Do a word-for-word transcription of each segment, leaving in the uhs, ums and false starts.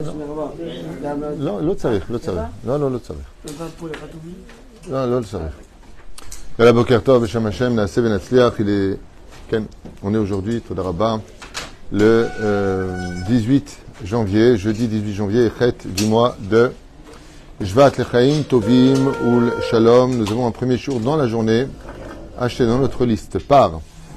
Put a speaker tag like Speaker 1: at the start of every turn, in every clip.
Speaker 1: לא, לא צריך, לא צריך. לא, לא, לא צריך. לא, לא צריך. יאללה, בוקר טוב, בשם השם, נעשה ונצליח. Il est... כן, on est aujourd'hui, תודה רבה, le euh, dix-huit janvier, jeudi dix-huit janvier, fête du mois de Shvat Lechaim Tovim Ul Shalom. Nous avons un premier jour dans la journée, acheté dans notre liste par...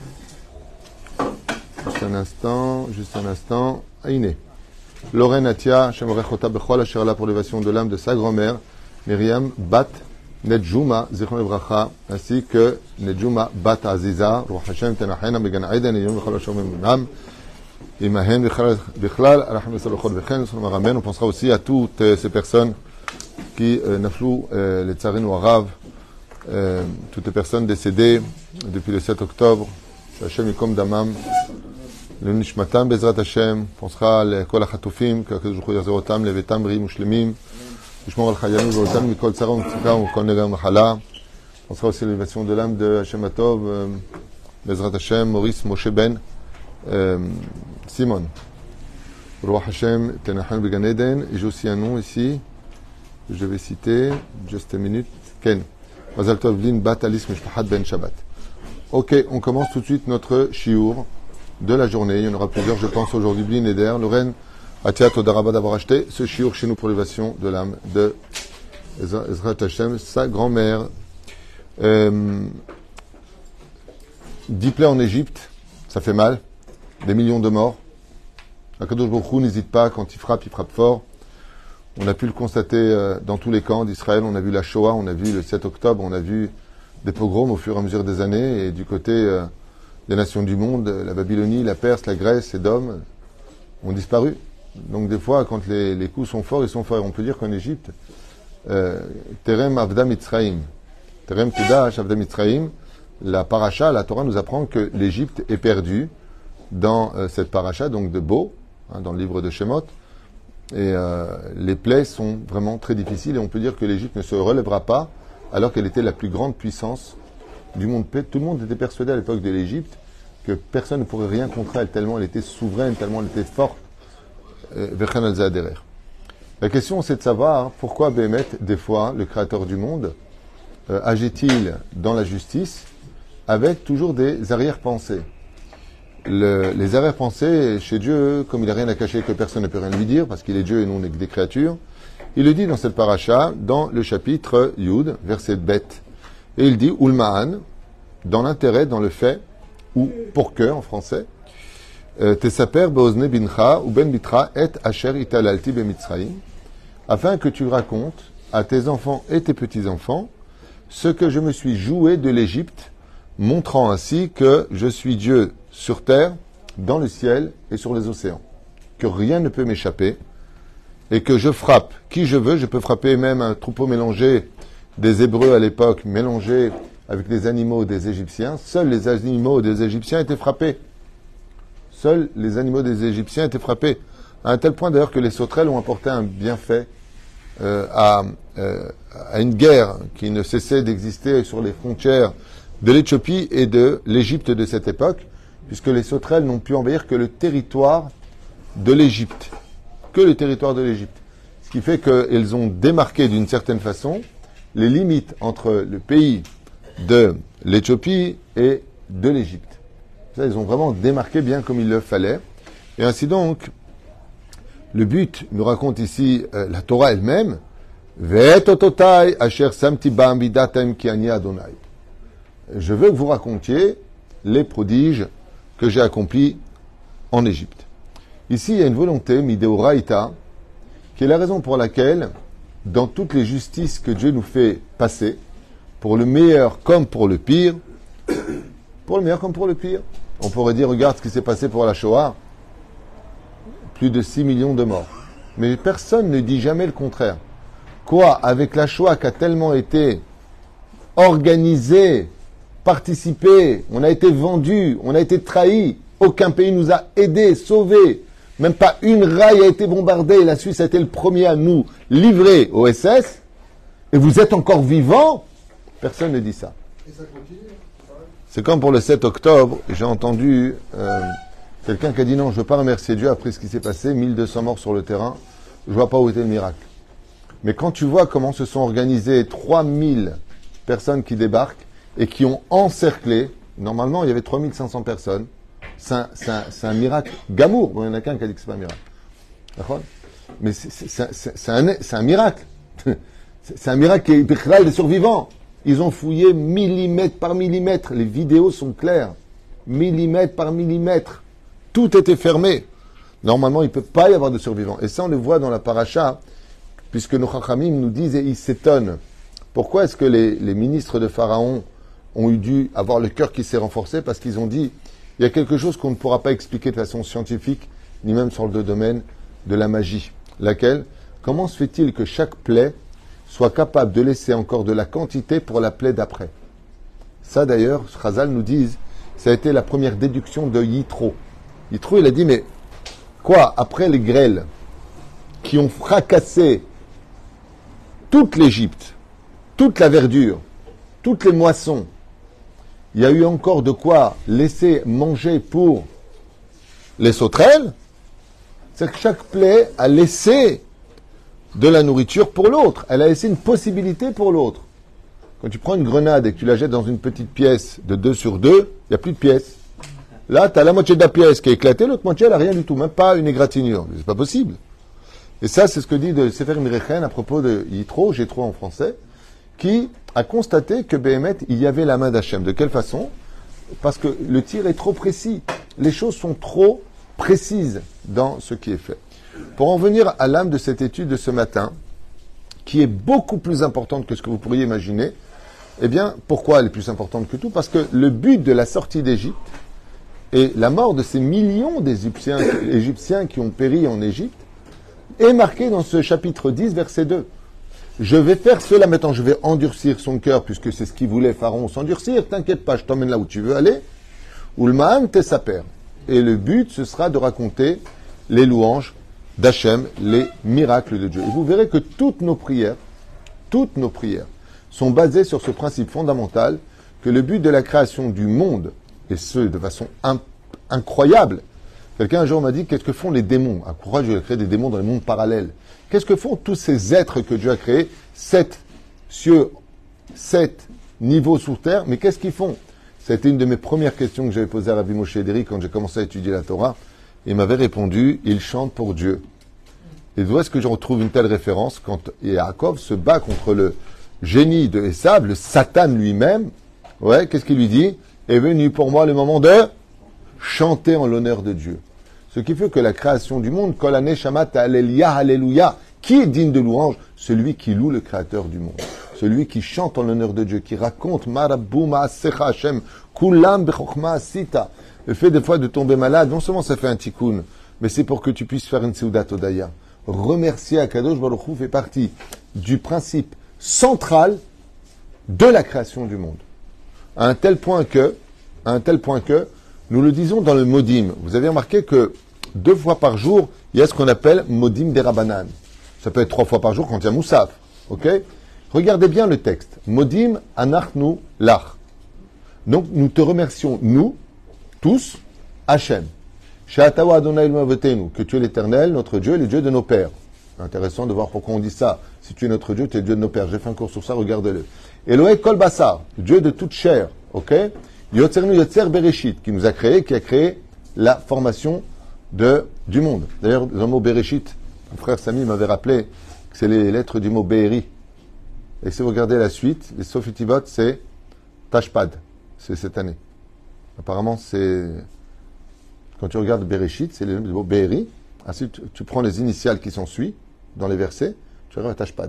Speaker 1: Juste un instant, juste un instant, Aïné. Lorraine Atia, Shemorechota Bechol, Asherla pour l'élévation de l'âme de sa grand-mère, Myriam Bat Nedjouma, Zichron Evracha, ainsi que Nedjouma Bat Aziza, Ruach Hashem Tenachena, Began Aiden, Yom Bechol Hashem Emunam, Imahen Bechlal, Arachim Salochot Vechen, Amen. On pensera aussi à toutes euh, ces personnes qui euh, naflou, euh, les Tsarinu Arav, euh, toutes les personnes décédées depuis le sept octobre, Hashem Yikom Damam, le Nishmatam Bezrat Hashem, pensera לכל החטופים, שהקדוש ברוך הוא יחזיר אותם לביתם בריאים ושלמים, לשמור על חיינו ואותנו מכל צרה ומצוקה ומכל נגע ומחלה. pensera aussi à l'élévation de l'âme de Hashem Atov, euh, Bezrat Hashem, Maurice Moshe Ben, euh, Simon. Roi Hashem, Tenachan Began Eden, et j'ai aussi un nom ici, je vais citer, juste une minute, Ken. Mazal Tov Lin Bat Alice Mishpahat Ben Shabbat. Ok, on commence tout de suite notre shiur de la journée. Il y en aura plusieurs, je pense, aujourd'hui. Blin Eder, Lorraine, Atia Todaraba d'avoir acheté ce shiur chez nous pour l'élévation de l'âme de Ezrat Hashem, sa grand-mère. Euh, dix plaies en Égypte, ça fait mal. Des millions de morts. Akadosh Baruch Hu n'hésite pas, quand il frappe, il frappe fort. On a pu le constater euh, dans tous les camps d'Israël. On a vu la Shoah, on a vu le sept octobre, on a vu des pogroms au fur et à mesure des années. Et du côté... Euh, les nations du monde, la Babylonie, la Perse, la Grèce, Édom, ont disparu. Donc des fois, quand les, les coups sont forts, ils sont forts. On peut dire qu'en Égypte, Terem Avda Mitzraim, Terem Tedash Avda Mitzraim, la paracha, la Torah nous apprend que l'Égypte est perdue dans euh, cette paracha, donc de Bo, hein, dans le livre de Shemot. Et euh, les plaies sont vraiment très difficiles et on peut dire que l'Égypte ne se relèvera pas alors qu'elle était la plus grande puissance du monde. Tout le monde était persuadé à l'époque de l'Égypte que personne ne pourrait rien contre elle, tellement elle était souveraine, tellement elle était forte. La question, c'est de savoir pourquoi Béhémet, des fois, le créateur du monde, euh, agit-il dans la justice avec toujours des arrière-pensées. Le, les arrière-pensées chez Dieu, comme il n'a rien à cacher, que personne ne peut rien lui dire, parce qu'il est Dieu et non des créatures, il le dit dans cette paracha, dans le chapitre Yud, verset bête. Et il dit « Ulma'an », dans l'intérêt, dans le fait, ou pour que, en français, « Tesaper be'ozne bincha ou ben bitra et asher italalti be'mitzraim » afin que tu racontes à tes enfants et tes petits-enfants ce que je me suis joué de l'Égypte, montrant ainsi que je suis Dieu sur terre, dans le ciel et sur les océans, que rien ne peut m'échapper, et que je frappe qui je veux, je peux frapper même un troupeau mélangé des Hébreux à l'époque, mélangés avec des animaux des Égyptiens. Seuls les animaux des Égyptiens étaient frappés. Seuls les animaux des Égyptiens étaient frappés. À un tel point d'ailleurs que les sauterelles ont apporté un bienfait euh, à, euh, à une guerre qui ne cessait d'exister sur les frontières de l'Éthiopie et de l'Égypte de cette époque, puisque les sauterelles n'ont pu envahir que le territoire de l'Égypte. Que le territoire de l'Égypte. Ce qui fait qu'elles ont démarqué d'une certaine façon les limites entre le pays de l'Éthiopie et de l'Égypte. Ça, ils ont vraiment démarqué bien comme il le fallait. Et ainsi donc, le but, nous raconte ici euh, la Torah elle-même, Ve'etototai asher samti ba'am bidatem ki ani Adonai. Je veux que vous racontiez les prodiges que j'ai accomplis en Égypte. Ici, il y a une volonté, mideoraita, qui est la raison pour laquelle dans toutes les justices que Dieu nous fait passer, pour le meilleur comme pour le pire, pour le meilleur comme pour le pire, on pourrait dire, regarde ce qui s'est passé pour la Shoah, plus de six millions de morts. Mais personne ne dit jamais le contraire. Quoi, avec la Shoah qui a tellement été organisée, participée, on a été vendu, on a été trahi, aucun pays nous a aidés, sauvés. Même pas une raille a été bombardée. La Suisse a été le premier à nous livrer au S S. Et vous êtes encore vivants? Personne ne dit ça. Et ça continue. C'est comme pour le sept octobre. J'ai entendu euh, quelqu'un qui a dit non, je ne veux pas remercier Dieu après ce qui s'est passé. mille deux cents morts sur le terrain. je vois pas où était le miracle. Mais quand tu vois comment se sont organisées trois mille personnes qui débarquent et qui ont encerclé, normalement il y avait trois mille cinq cents personnes, c'est un, c'est un, c'est un miracle gamour. Bon, il y en a qu'un qui a dit que c'est pas un miracle. D'accord ? Mais c'est, c'est, c'est, c'est, c'est, un, c'est un miracle. C'est un miracle qui est des survivants. Ils ont fouillé millimètre par millimètre. Les vidéos sont claires. Millimètre par millimètre. Tout était fermé. Normalement, il ne peut pas y avoir de survivants. Et ça, on le voit dans la paracha, puisque nos chachamim nous disent et ils s'étonnent. Pourquoi est-ce que les, les ministres de Pharaon ont eu dû avoir le cœur qui s'est renforcé? Parce qu'ils ont dit, il y a quelque chose qu'on ne pourra pas expliquer de façon scientifique, ni même sur le domaine de la magie. Laquelle? Comment se fait-il que chaque plaie soit capable de laisser encore de la quantité pour la plaie d'après? Ça d'ailleurs, Chazal nous dit, ça a été la première déduction de Yitro. Yitro, il a dit, mais quoi, après les grêles qui ont fracassé toute l'Égypte, toute la verdure, toutes les moissons, il y a eu encore de quoi laisser manger pour les sauterelles? C'est que chaque plaie a laissé de la nourriture pour l'autre. Elle a laissé une possibilité pour l'autre. Quand tu prends une grenade et que tu la jettes dans une petite pièce de deux sur deux, il n'y a plus de pièces. Là, tu as la moitié de la pièce qui est éclatée, l'autre moitié, elle n'a rien du tout, même pas une égratignure. C'est pas possible. Et ça, c'est ce que dit de Sefer Mirechen à propos de Yitro, Jétro en français, qui a constaté que Béhémet, il y avait la main d'Hachem. De quelle façon? Parce que le tir est trop précis. Les choses sont trop précises dans ce qui est fait. Pour en venir à l'âme de cette étude de ce matin, qui est beaucoup plus importante que ce que vous pourriez imaginer, eh bien, pourquoi elle est plus importante que tout? Parce que le but de la sortie d'Égypte et la mort de ces millions d'Égyptiens Égyptiens qui ont péri en Égypte est marqué dans ce chapitre dix, verset deux. Je vais faire cela maintenant, je vais endurcir son cœur, puisque c'est ce qu'il voulait Pharaon, s'endurcir, t'inquiète pas, je t'emmène là où tu veux aller. Ulmaan tesaper. Et le but, ce sera de raconter les louanges d'Hachem, les miracles de Dieu. Et vous verrez que toutes nos prières, toutes nos prières, sont basées sur ce principe fondamental que le but de la création du monde, et ce, de façon in- incroyable. Quelqu'un un jour m'a dit, qu'est-ce que font les démons? À pourquoi Dieu a créé des démons dans les mondes parallèles? Qu'est-ce que font tous ces êtres que Dieu a créés? Sept cieux, sept niveaux sous terre, mais qu'est-ce qu'ils font? C'était une de mes premières questions que j'avais posées à Rabbi Moshe Ederi quand j'ai commencé à étudier la Torah. Il m'avait répondu, ils chantent pour Dieu. Et d'où est-ce que je retrouve une telle référence quand Yaakov se bat contre le génie de Esav, le Satan lui-même? Ouais, qu'est-ce qu'il lui dit? Est venu pour moi le moment de chanter en l'honneur de Dieu. Ce qui fait que la création du monde, Kol Haneshamat Alléluia, Alléluia, qui est digne de louange? Celui qui loue le Créateur du monde. Celui qui chante en l'honneur de Dieu, qui raconte Marabou Ma'asecha Hashem, Kulam Bechokma Asita. Le fait des fois de tomber malade, non seulement ça fait un tikkun, mais c'est pour que tu puisses faire une Seudat Odaya. Remercier Akadosh Baruch Hu fait partie du principe central de la création du monde. À un tel point que, à un tel point que, nous le disons dans le Modim. Vous avez remarqué que deux fois par jour, il y a ce qu'on appelle Modim des Rabanan. Ça peut être trois fois par jour quand il y a Moussaf. Ok? Regardez bien le texte. Modim anachnu lach. Donc nous te remercions, nous, tous, Hachem. She'atawa Adonai Eloheinu avotenu, que tu es l'Éternel, notre Dieu, et le Dieu de nos pères. Intéressant de voir pourquoi on dit ça. Si tu es notre Dieu, tu es le Dieu de nos pères. J'ai fait un cours sur ça, regardez-le. Elohé Kol Basar, Dieu de toute chair. Ok? Yotzernu Yotzer Bereshit, qui nous a créé, qui a créé la formation de, du monde. D'ailleurs, le mot Bereshit, mon frère Samy m'avait rappelé que c'est les lettres du mot Be'eri. Et si vous regardez la suite, les Sofitibot, c'est Tashpad. C'est cette année. Apparemment, c'est... Quand tu regardes Bereshit, c'est le mot Be'eri. Ensuite, tu, tu prends les initiales qui sont suivies dans les versets, tu arrives à Tashpad.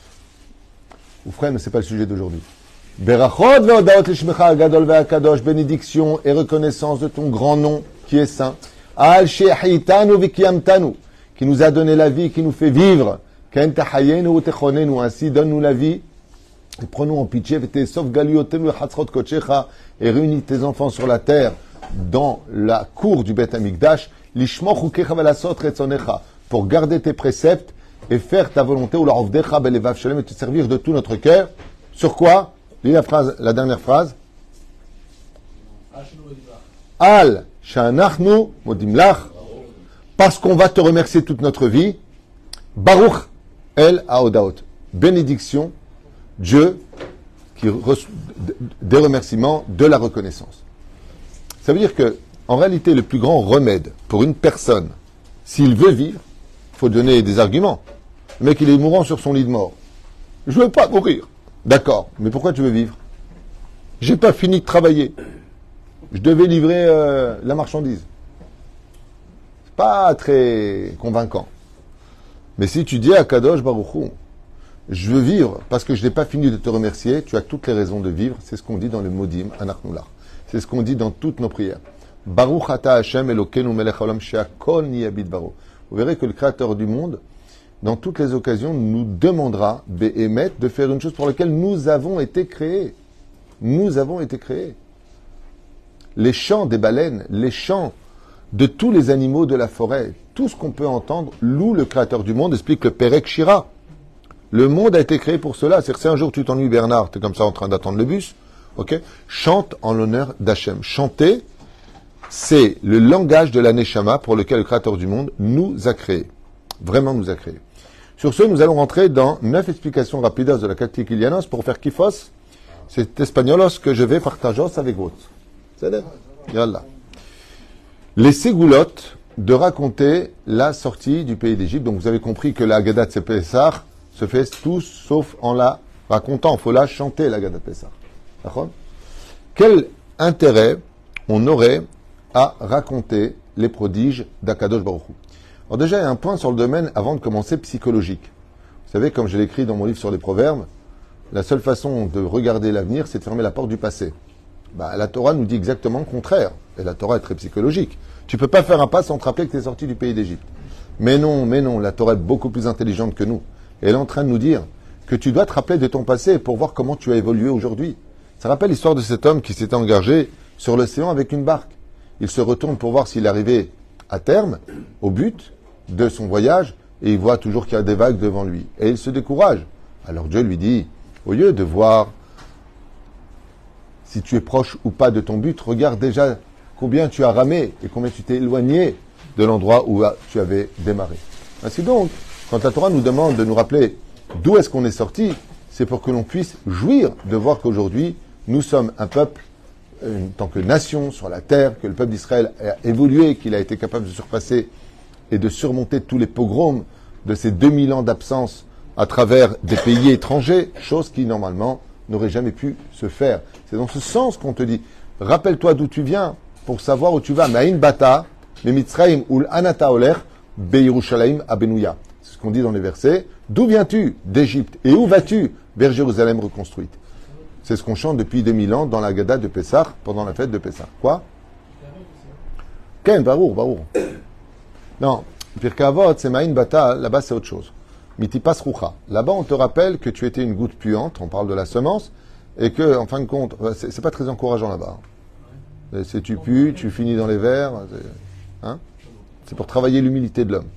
Speaker 1: Ou frère, mais ce n'est pas le sujet d'aujourd'hui. Berachot ve'odaot lishmecha gadol ve'akadosh, bénédiction et reconnaissance de ton grand nom qui est saint. Al she'hitanu v'kiyamtanu, qui nous a donné la vie, qui nous fait vivre. Ken tahayenu u'techonenu, ainsi donne-nous la vie. Et prenons en pitié, v'tesof galiotenu chatzrot kochecha, et réunis tes enfants sur la terre, dans la cour du Beth Amikdash, lishmoch ukecha ve'lasot retzonecha, pour garder tes préceptes et faire ta volonté, ou la rovdecha belevav shalem, et te servir de tout notre cœur. Sur quoi? Lis la phrase, la dernière phrase. Al shanachnu modim lach, parce qu'on va te remercier toute notre vie. Baruch El Haodaot. Bénédiction, Dieu qui reçoit des remerciements, de la reconnaissance. Ça veut dire que, en réalité, le plus grand remède pour une personne, s'il veut vivre, il faut donner des arguments. Le mec, il est mourant sur son lit de mort. Je veux pas mourir. D'accord, mais pourquoi tu veux vivre? J'ai pas fini de travailler. Je devais livrer euh, la marchandise. C'est pas très convaincant. Mais si tu dis à Kadosh Baruch Hu, je veux vivre parce que je n'ai pas fini de te remercier, tu as toutes les raisons de vivre. C'est ce qu'on dit dans le Modim, Anachnullah. C'est ce qu'on dit dans toutes nos prières. Baruch ata Hashem Elokeinu melech haolam she'akol niyeh bidbaro. Vous verrez que le Créateur du monde, dans toutes les occasions, nous demandera, Be'emet, de faire une chose pour laquelle nous avons été créés. Nous avons été créés. Les chants des baleines, les chants de tous les animaux de la forêt, tout ce qu'on peut entendre, loue le Créateur du monde, explique le Perek Shira. Le monde a été créé pour cela. C'est-à-dire que si un jour tu t'ennuies, Bernard, tu es comme ça en train d'attendre le bus, ok, chante en l'honneur d'Hachem. Chanter, c'est le langage de la Neshama pour lequel le Créateur du monde nous a créés. Vraiment nous a créés. Sur ce, nous allons rentrer dans neuf explications rapides de la Catéquilianos pour faire kifos. C'est espagnolos que je vais partager avec vous. C'est là. Yallah. Les ségoulottes de raconter la sortie du pays d'Égypte. Donc vous avez compris que la Haggadah de Pessah se fait tous sauf en la racontant. Il faut la chanter, la Haggadah de Pessah. D'accord? Quel intérêt on aurait à raconter les prodiges d'Akadosh Baruch Hu? Alors déjà, il y a un point sur le domaine, avant de commencer, psychologique. Vous savez, comme je l'écris dans mon livre sur les proverbes, la seule façon de regarder l'avenir, c'est de fermer la porte du passé. Bah, la Torah nous dit exactement le contraire. Et la Torah est très psychologique. Tu peux pas faire un pas sans te rappeler que tu es sorti du pays d'Égypte. Mais non, mais non, la Torah est beaucoup plus intelligente que nous. Et elle est en train de nous dire que tu dois te rappeler de ton passé pour voir comment tu as évolué aujourd'hui. Ça rappelle l'histoire de cet homme qui s'était engagé sur l'océan avec une barque. Il se retourne pour voir s'il arrivait à terme, au but de son voyage, et il voit toujours qu'il y a des vagues devant lui. Et il se décourage. Alors Dieu lui dit, au lieu de voir si tu es proche ou pas de ton but, regarde déjà combien tu as ramé et combien tu t'es éloigné de l'endroit où tu avais démarré. Ainsi donc, quand la Torah nous demande de nous rappeler d'où est-ce qu'on est sorti, c'est pour que l'on puisse jouir de voir qu'aujourd'hui, nous sommes un peuple, en tant que nation sur la terre, que le peuple d'Israël a évolué, qu'il a été capable de surpasser et de surmonter tous les pogroms de ces deux mille ans d'absence à travers des pays étrangers, chose qui normalement n'aurait jamais pu se faire. C'est dans ce sens qu'on te dit, rappelle-toi d'où tu viens pour savoir où tu vas. Ma'in bata, le Mitzrayim ul anata oler, be'Yerushalayim abenouya. C'est ce qu'on dit dans les versets. D'où viens-tu? D'Égypte. Et où vas-tu? Vers Jérusalem reconstruite. C'est ce qu'on chante depuis deux mille ans dans la Haggadah de Pessah, pendant la fête de Pessah. Quoi? Ken, barour, barour. Non, Pirkei Avot, c'est Ma'in bata, là-bas c'est autre chose. Mitipas rucha. Là-bas, on te rappelle que tu étais une goutte puante, on parle de la semence, et que, en fin de compte, c'est, c'est pas très encourageant là-bas. C'est tu pues, tu finis dans les vers. C'est, hein, c'est pour travailler l'humilité de l'homme.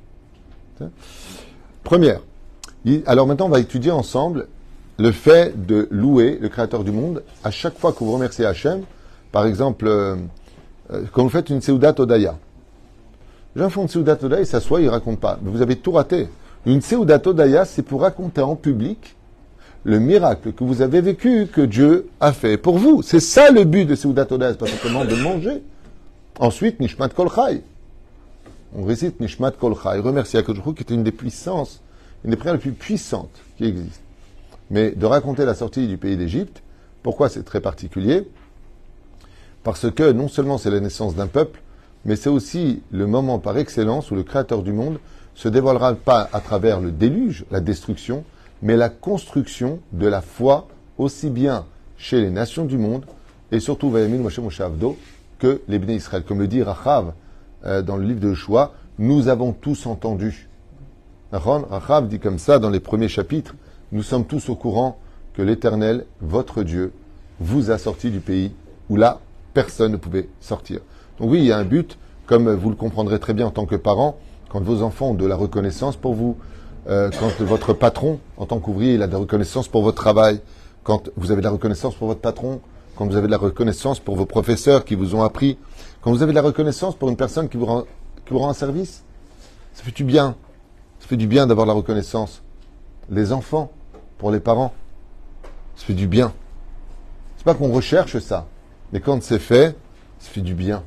Speaker 1: Première. Alors maintenant, on va étudier ensemble le fait de louer le Créateur du monde. À chaque fois que vous remerciez Hachem, par exemple, euh, quand vous faites une Seudat Odaya. Les gens font une Seudat Odaya, ils s'assoient, ils ne racontent pas. Mais vous avez tout raté. Une Seudat Odaya, c'est pour raconter en public le miracle que vous avez vécu, que Dieu a fait pour vous. C'est ça le but de Seudat Odaya, c'est pas simplement de manger. Ensuite, Nishmat Kol Chai. On récite Nishmat Kol Chai. Remercie Akadosh Baruch Hu, qui est une des puissances, une des prières les plus puissantes qui existent. Mais de raconter la sortie du pays d'Égypte, pourquoi c'est très particulier? Parce que non seulement c'est la naissance d'un peuple, mais c'est aussi le moment par excellence où le Créateur du monde se dévoilera pas à travers le déluge, la destruction, mais la construction de la foi aussi bien chez les nations du monde et surtout Vayamin Moshe Moshe Avdo que les Bnei Israël. Comme le dit Rachav euh, dans le livre de Yoshua, nous avons tous entendu. Rachav dit comme ça dans les premiers chapitres, nous sommes tous au courant que l'Éternel, votre Dieu, vous a sorti du pays où là, personne ne pouvait sortir. Donc oui, il y a un but, comme vous le comprendrez très bien en tant que parent, quand vos enfants ont de la reconnaissance pour vous, euh, quand votre patron, en tant qu'ouvrier, il a de la reconnaissance pour votre travail, quand vous avez de la reconnaissance pour votre patron, quand vous avez de la reconnaissance pour vos professeurs qui vous ont appris, quand vous avez de la reconnaissance pour une personne qui vous rend, qui vous rend un service, ça fait du bien. Ça fait du bien d'avoir la reconnaissance. Les enfants, pour les parents, ça fait du bien. C'est pas qu'on recherche ça, mais quand c'est fait, ça fait du bien.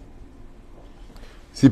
Speaker 1: Le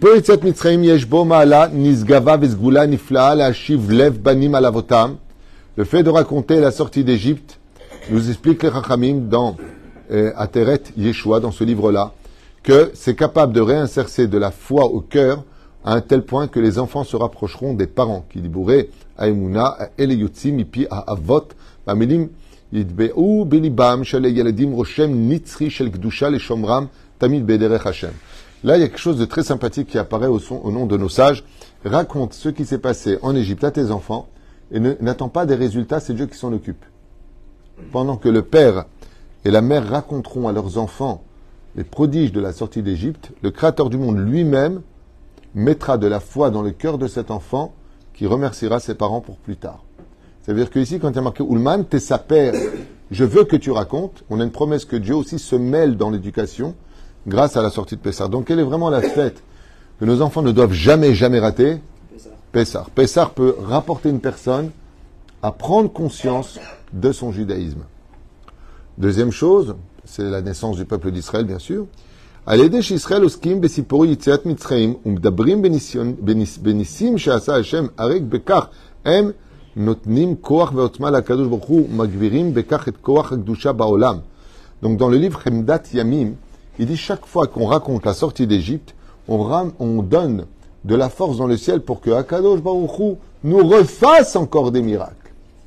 Speaker 1: fait de raconter la sortie d'Égypte nous explique les Chachamim dans euh, Ateret Yeshua, dans ce livre-là, que c'est capable de réinsérer de la foi au cœur à un tel point que les enfants se rapprocheront des parents. Qui dibouré Aemuna, Eleyutzim, Ipi, Avot, Bamilim, Yidbe'u, Belibam, Shale Yaladim, Roshem, Nitzri, Shel Gdusha, Les Shomram, Tamid Bederech Hashem. Là, il y a quelque chose de très sympathique qui apparaît au, son, au nom de nos sages. Raconte ce qui s'est passé en Égypte à tes enfants et ne, n'attends pas des résultats, c'est Dieu qui s'en occupe. Pendant que le père et la mère raconteront à leurs enfants les prodiges de la sortie d'Égypte, le Créateur du monde lui-même mettra de la foi dans le cœur de cet enfant qui remerciera ses parents pour plus tard. C'est-à-dire qu'ici, quand il y a marqué « Ulman, t'es sa père, je veux que tu racontes », on a une promesse que Dieu aussi se mêle dans l'éducation grâce à la sortie de Pessah. Donc, quelle est vraiment la fête que nos enfants ne doivent jamais, jamais rater? Pessah. Pessah peut rapporter une personne à prendre conscience de son judaïsme. Deuxième chose, c'est la naissance du peuple d'Israël, bien sûr. Al-Edesh Israël oskim besipori yitziat Mitzrayim umdabrim benissim she'asa Hashem arek bekach em notnim koach ve'otma lakadosh baruch hu magvirim bekach et koach hakdusha ba'olam. Donc dans le livre Chemdat Yamim, il dit chaque fois qu'on raconte la sortie d'Égypte, on, ram, on donne de la force dans le ciel pour que Akadosh Baruch Hu nous refasse encore des miracles.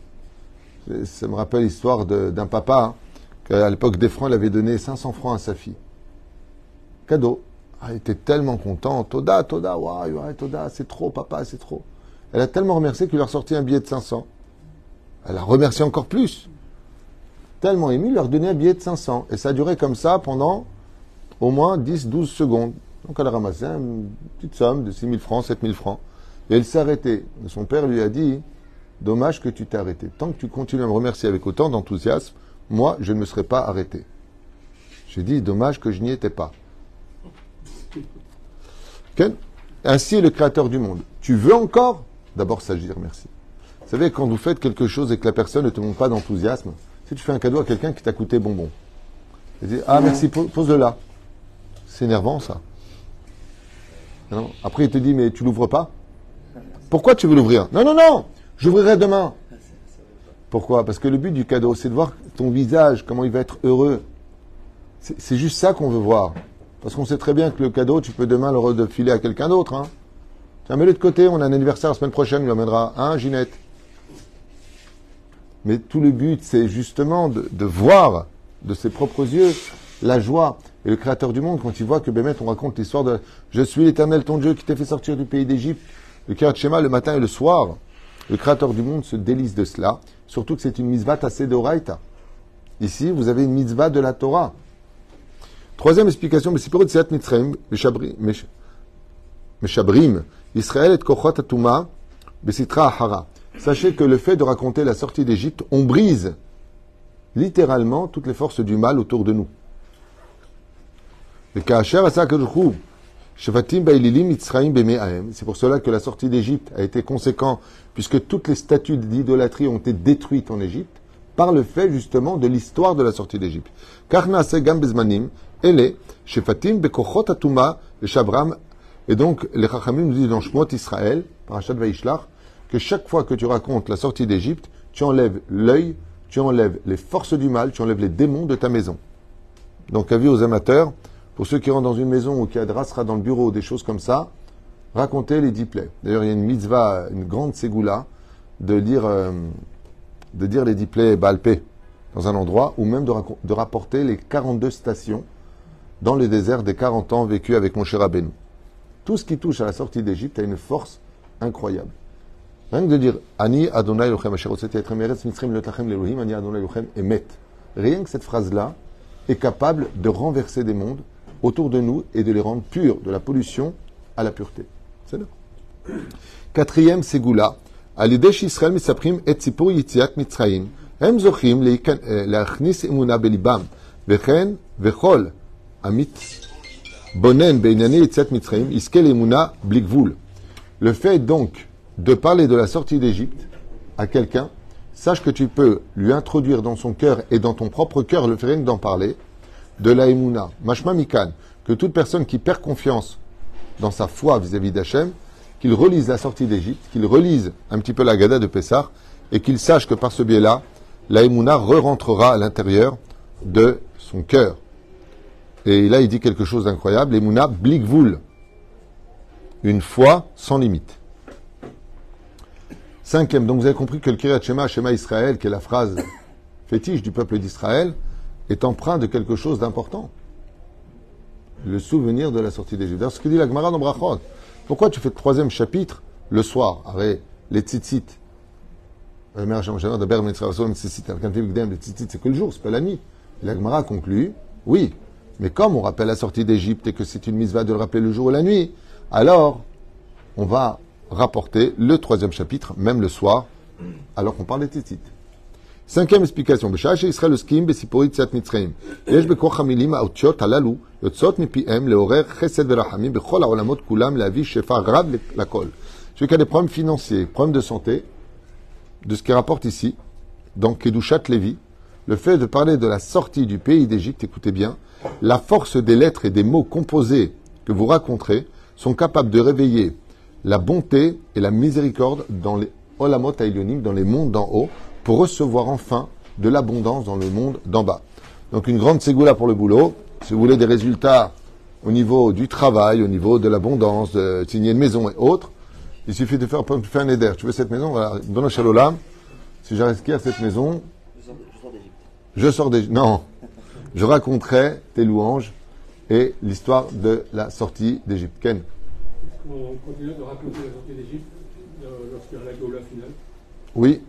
Speaker 1: Ça me rappelle l'histoire de, d'un papa, hein, qu'à l'époque des francs, il avait donné cinq cents francs à sa fille. Cadeau. Ah, elle était tellement contente. Toda, Toda, ouais, ouais, Toda, c'est trop, papa, c'est trop. Elle a tellement remercié qu'il lui a sorti un billet de cinq cents. Elle a remercié encore plus. Tellement ému, il lui a redonné un billet de cinq cents. Et ça a duré comme ça pendant au moins dix douze secondes. Donc elle a ramassé une petite somme de six mille francs, sept mille francs. Et elle s'est arrêtée. Et son père lui a dit, dommage que tu t'es arrêté. Tant que tu continues à me remercier avec autant d'enthousiasme, moi, je ne me serais pas arrêté. J'ai dit, dommage que je n'y étais pas. Okay? Ainsi est le Créateur du monde. Tu veux encore? D'abord s'agir, merci. Vous savez, quand vous faites quelque chose et que la personne ne te montre pas d'enthousiasme, si tu fais un cadeau à quelqu'un qui t'a coûté bonbon, il dit, ah merci, pose-le là. C'est énervant ça. Non. Après il te dit, mais tu l'ouvres pas? Pourquoi tu veux l'ouvrir? Non, non, non, j'ouvrirai demain. Pourquoi? Parce que le but du cadeau, c'est de voir ton visage, comment il va être heureux. C'est, c'est juste ça qu'on veut voir. Parce qu'on sait très bien que le cadeau, tu peux demain le refiler à quelqu'un d'autre. Hein. Tiens, mets-le de côté, on a un anniversaire la semaine prochaine, il lui amènera un, hein, Ginette. Mais tout le but, c'est justement de, de voir de ses propres yeux la joie. Et le Créateur du monde, quand il voit que Bémet, on raconte l'histoire de « Je suis l'Éternel, ton Dieu, qui t'a fait sortir du pays d'Égypte », le Kiryat Shema, le matin et le soir, le Créateur du monde se délice de cela, surtout que c'est une mitzvah tassée d'Oraïta. Ici, vous avez une mitzvah de la Torah. Troisième explication, Meshabrim, Israël et Kochot Atuma, Besitra Ahara. Sachez que le fait de raconter la sortie d'Égypte, on brise littéralement toutes les forces du mal autour de nous. C'est pour cela que la sortie d'Égypte a été conséquente, puisque toutes les statues d'idolâtrie ont été détruites en Égypte, par le fait justement de l'histoire de la sortie d'Égypte. Et donc, les Chachamim nous disent dans Shmot Israël, Parashat Vaishlach, que chaque fois que tu racontes la sortie d'Égypte, tu enlèves l'œil, tu enlèves les forces du mal, tu enlèves les démons de ta maison. Donc, avis aux amateurs, pour ceux qui rentrent dans une maison ou qui adressera dans le bureau, des choses comme ça, racontez les dix plaies. D'ailleurs, il y a une mitzvah, une grande ségoula, de lire, euh, de dire les dix plaies Baal Pé dans un endroit, ou même de, de rapporter les quarante-deux stations dans le désert des quarante ans vécus avec Moshe Rabbeinu. Tout ce qui touche à la sortie d'Égypte a une force incroyable. Rien que de dire Ani Adonai Elochem Asher Hotzeti Atrem Meretz Mitzrayim Lotachem Lelohim Ani Adonai Elochem Emet. Rien que cette phrase-là est capable de renverser des mondes autour de nous et de les rendre purs, de la pollution à la pureté. C'est là. Quatrième ségoula. Alidesh Israël misaprim et tzipur yitziat Mitzrayim. Hem zochim leachnis emuna belibam. Vechen vechol amit bonen beinane yitziat Mitzrayim iskel emuna blikvul. Le fait donc de parler de la sortie d'Égypte à quelqu'un, sache que tu peux lui introduire dans son cœur et dans ton propre cœur, le fait rien que d'en parler, de la Emouna, Mashma Mikan, que toute personne qui perd confiance dans sa foi vis-à-vis d'Hachem, qu'il relise la sortie d'Égypte, qu'il relise un petit peu la Gada de Pessah, et qu'il sache que par ce biais-là, la Emouna re-rentrera à l'intérieur de son cœur. Et là, il dit quelque chose d'incroyable, Emouna blikvoul, une foi sans limite. Cinquième, donc vous avez compris que le Kiryat Shema, Shema Israël, qui est la phrase fétiche du peuple d'Israël, est empreint de quelque chose d'important. Le souvenir de la sortie d'Égypte. D'ailleurs, ce que dit la Gemara dans Brachot. Pourquoi tu fais le troisième chapitre le soir? Arrête, les tzitzit. Les tzitzit, c'est que le jour, c'est pas la nuit. Et la Gemara conclut, oui, mais comme on rappelle la sortie d'Égypte et que c'est une mitzvah de le rappeler le jour ou la nuit, alors on va rapporter le troisième chapitre, même le soir, alors qu'on parle des tzitzit. Cinquième explication. בשעה שישראל עוסקים בסיפור יציאת מצרים, יש בכוח המילים האותיות הללו יוצאות מפיהם לעורר חסד ורחמים בכל העולמות כולם להביא שפע רב לכל. Celui qui a des problèmes financiers, problèmes de santé, de ce qu'il rapporte ici, dans Kedushat Lévi, le fait de parler de la sortie du pays d'Égypte, écoutez bien, la force des lettres et des mots composés que vous raconterez sont capables de réveiller la bonté et la miséricorde dans les Olamot Haïlionim, dans les mondes d'en haut, pour recevoir enfin de l'abondance dans le monde d'en bas. Donc une grande ségoula pour le boulot. Si vous voulez des résultats au niveau du travail, au niveau de l'abondance, de signer une maison et autres, il suffit de faire, tu fais un éder. Tu veux cette maison, voilà, dans le Shalolam, si j'acquiers cette maison, je sors, je sors d'Égypte. Je sors d'Égypte. Non, je raconterai tes louanges et l'histoire de la sortie d'Égypte. Ken.
Speaker 2: On continue de raconter la sortie d'Égypte lorsqu'il y a la Géoula finale.
Speaker 1: Oui.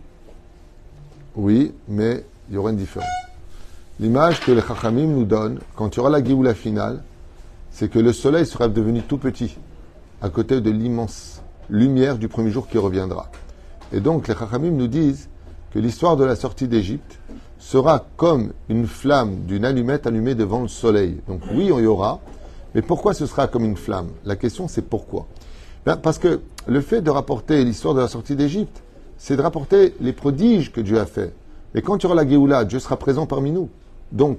Speaker 1: Oui, mais il y aura une différence. L'image que les Chachamim nous donnent, quand il y aura la Géoula finale, c'est que le soleil sera devenu tout petit, à côté de l'immense lumière du premier jour qui reviendra. Et donc, les Chachamim nous disent que l'histoire de la sortie d'Égypte sera comme une flamme d'une allumette allumée devant le soleil. Donc oui, il y aura, mais pourquoi ce sera comme une flamme? La question, c'est pourquoi. Ben, parce que le fait de rapporter l'histoire de la sortie d'Égypte, c'est de rapporter les prodiges que Dieu a fait. Mais quand il y aura la Géoula, Dieu sera présent parmi nous. Donc,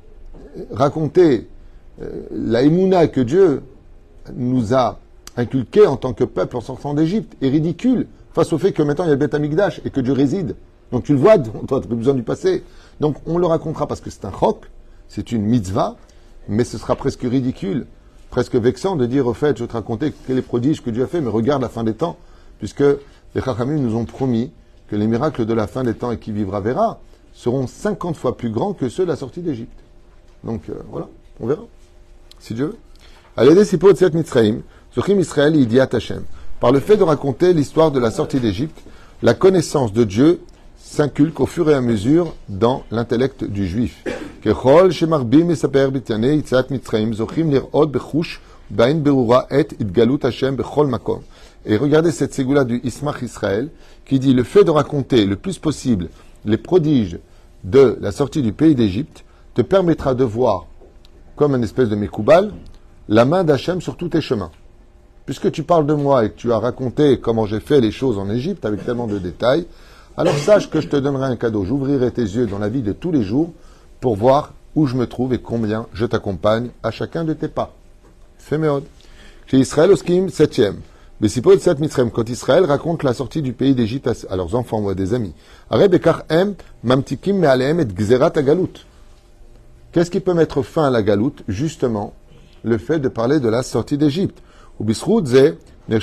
Speaker 1: raconter euh, la Emouna que Dieu nous a inculquée en tant que peuple en sortant d'Égypte est ridicule face au fait que maintenant il y a le Beth Amikdash et que Dieu réside. Donc tu le vois, toi tu n'as plus besoin du passé. Donc on le racontera parce que c'est un chok, c'est une mitzvah, mais ce sera presque ridicule, presque vexant de dire au fait, je vais te raconter quel est le prodige que Dieu a fait, mais regarde la fin des temps, puisque les Chachamim nous ont promis que les miracles de la fin des temps et qui vivra verra seront cinquante fois plus grands que ceux de la sortie d'Égypte. Donc euh, voilà, on verra, si Dieu veut. Allez, des sipot de cette Mitzrayim, Zochim Israël Idiat Hashem. Par le fait de raconter l'histoire de la sortie d'Égypte, la connaissance de Dieu s'inculque au fur et à mesure dans l'intellect du juif. Kechol shemarbim esaper b'tianei Yitziat Mitzrayim zochim lir'ot bechush ba'in berura et idgalut Hashem bechol makom. Et regardez cette ségoula du Ismach Israël qui dit le fait de raconter le plus possible les prodiges de la sortie du pays d'Égypte te permettra de voir, comme une espèce de Mekoubal, la main d'Hachem sur tous tes chemins. Puisque tu parles de moi et que tu as raconté comment j'ai fait les choses en Égypte avec tellement de détails, alors sache que je te donnerai un cadeau. J'ouvrirai tes yeux dans la vie de tous les jours pour voir où je me trouve et combien je t'accompagne à chacun de tes pas. Féméod. Chez Israël Oskim, septième. Bessipot Set Mitzrayim, quand Israël raconte la sortie du pays d'Égypte à leurs enfants ou à des amis. Areb Ekar Em, Mamtikim Mealeem et Gzerat Agalut. Qu'est-ce qui peut mettre fin à la galoute? Justement, le fait de parler de la sortie d'Égypte. Au lieu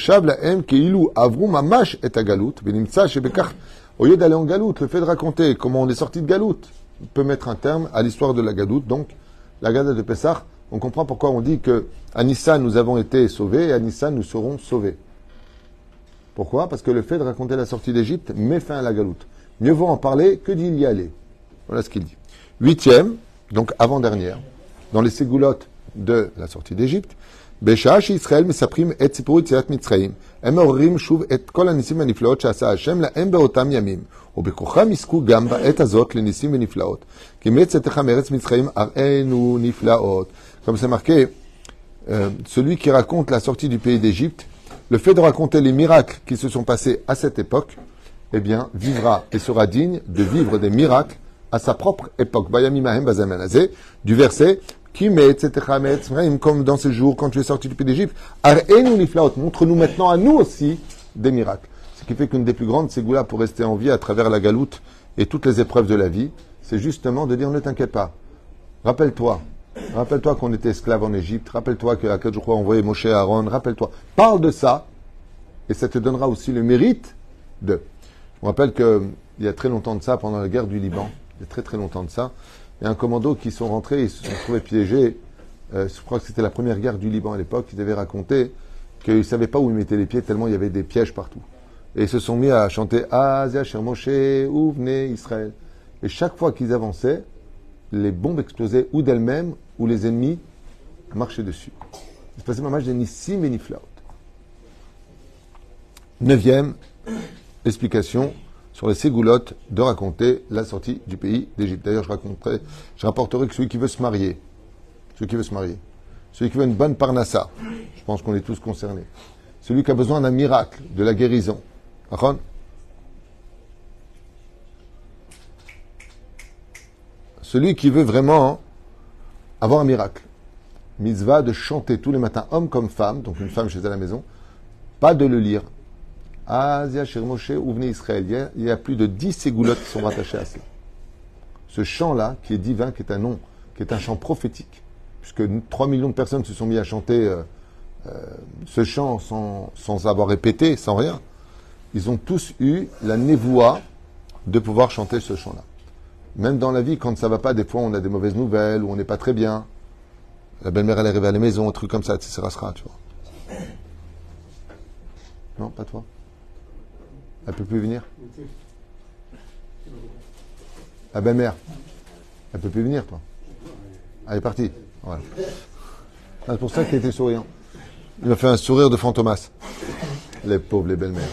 Speaker 1: d'aller en galoute, le fait de raconter comment on est sorti de galoute peut mettre un terme à l'histoire de la galoute. Donc, la Gada de Pessah, on comprend pourquoi on dit que à Nissan nous avons été sauvés et à Nissan nous serons sauvés. Pourquoi? Parce que le fait de raconter la sortie d'Égypte met fin à la galoute. Mieux vaut en parler que d'y y aller. Voilà ce qu'il dit. Huitième, donc avant-dernière, dans les ségoulottes de la sortie d'Égypte, בשעה שישראל מספרים את סיפור יציאת מצרים, הם מעוררים שוב את כל הניסים והנפלאות שעשה השם להם באותם ימים, ובכוחם יזכו גם בעת הזאת לניסים ונפלאות. כי מצאתך מארץ מצרים הראינו נפלאות. Comme c'est marqué, euh, celui qui raconte la sortie du pays d'Égypte, le fait de raconter les miracles qui se sont passés à cette époque, eh bien, vivra et sera digne de vivre des miracles à sa propre époque. Du verset, qui met, comme dans ces jours, quand tu es sorti du pays d'Égypte, montre-nous maintenant à nous aussi des miracles. Ce qui fait qu'une des plus grandes ségoulas pour rester en vie à travers la galoute et toutes les épreuves de la vie, c'est justement de dire ne t'inquiète pas. Rappelle-toi. Rappelle-toi qu'on était esclaves en Égypte. Rappelle-toi que Akadosh Baruch Hu a envoyé Moshe à Aaron. Rappelle-toi. Parle de ça et ça te donnera aussi le mérite de. Je me rappelle qu'il y a très longtemps de ça, pendant la guerre du Liban, il y a très très longtemps de ça, il y a un commando qui sont rentrés, ils se sont trouvés piégés. Euh, je crois que c'était la première guerre du Liban à l'époque. Ils avaient raconté qu'ils ne savaient pas où ils mettaient les pieds tellement il y avait des pièges partout. Et ils se sont mis à chanter Azia, Cher Moshe, où venez Israël. Et chaque fois qu'ils avançaient, les bombes explosaient ou d'elles-mêmes, ou les ennemis marchaient dessus. Il se passait un match de Nissim et Niflaot. Neuvième explication sur les ségoulottes de raconter la sortie du pays d'Égypte. D'ailleurs, je raconterai, je rapporterai que celui qui veut se marier, celui qui veut se marier, celui qui veut une bonne parnassa, je pense qu'on est tous concernés, celui qui a besoin d'un miracle, de la guérison, Aaron, celui qui veut vraiment avoir un miracle, mitzvah de chanter tous les matins, homme comme femme, donc une femme chez elle à la maison, pas de le lire. Azia, Cher Moshe, où venez Israël. Il y, a, il y a plus de dix ségoulottes qui sont rattachées à ça. Ce chant-là, qui est divin, qui est un nom, qui est un chant prophétique, puisque trois millions de personnes se sont mis à chanter euh, euh, ce chant sans, sans avoir répété, sans rien, ils ont tous eu la névoie de pouvoir chanter ce chant-là. Même dans la vie, quand ça va pas, des fois on a des mauvaises nouvelles, ou on n'est pas très bien. La belle-mère, elle est arrivée à la maison, un truc comme ça, et cetera, tu vois. Non, pas toi. Elle peut plus venir. La belle-mère, elle peut plus venir, toi. Elle est partie. Voilà. C'est pour ça qu'il était souriant. Il m'a fait un sourire de fantomas. Les pauvres, les belles-mères.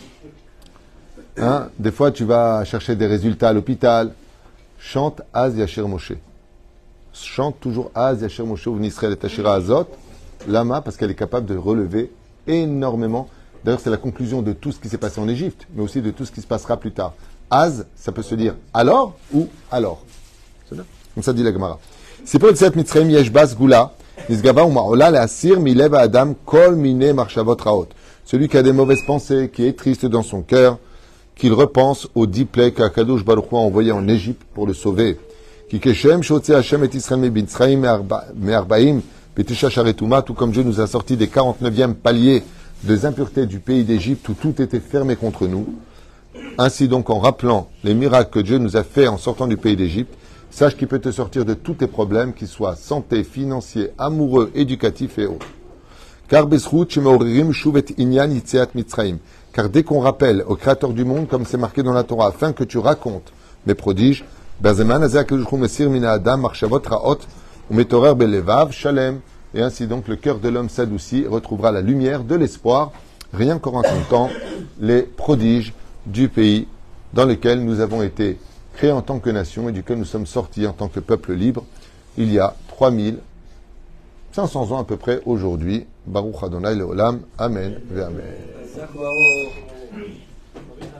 Speaker 1: Hein? Des fois, tu vas chercher des résultats à l'hôpital. Chante Az Yasher Moshe. Chante toujours Az Yasher Moshe ou Nisraël et Tashira Azot. Lama, parce qu'elle est capable de relever énormément. D'ailleurs, c'est la conclusion de tout ce qui s'est passé en Égypte, mais aussi de tout ce qui se passera plus tard. Az, ça peut se dire alors ou alors. C'est bien. Comme ça dit la Gemara. C'est pour cette Mitzrayim Yeshbas Gula, Nisgava ou Ma'ola, la Asir, Milev Adam, Kol Mine Marchavot Raot. Celui qui a des mauvaises pensées, qui est triste dans son cœur, qu'il repense aux dix plaies qu'Akadosh Baruch Hu a envoyées en Égypte pour le sauver. Qui Keshem, Shotze Hashem et Israël Mebitzraim, Me'arbaim, Betisha Sharetuma, tout comme Dieu nous a sorti des quarante-neuvième paliers des impuretés du pays d'Égypte où tout était fermé contre nous. Ainsi donc, en rappelant les miracles que Dieu nous a fait en sortant du pays d'Égypte, sache qu'il peut te sortir de tous tes problèmes, qu'ils soient santé, financiers, amoureux, éducatifs et autres. Car Besrout, Shemeoririm, Shuvet Inyan, Yitzeat Mitzraim. Car dès qu'on rappelle au Créateur du monde, comme c'est marqué dans la Torah, afin que tu racontes mes prodiges, Bazeman, Azak, Mesir, Mina Adam, Marchavot, Raot, Umetorer, Belevav, Shalem. Et ainsi donc, le cœur de l'homme s'adoucit, retrouvera la lumière de l'espoir, rien qu'en racontant les prodiges du pays dans lequel nous avons été créés en tant que nation et duquel nous sommes sortis en tant que peuple libre, il y a trois mille cinq cents ans à peu près aujourd'hui. Baruch Adonai Leolam. Amen. Ve Amen.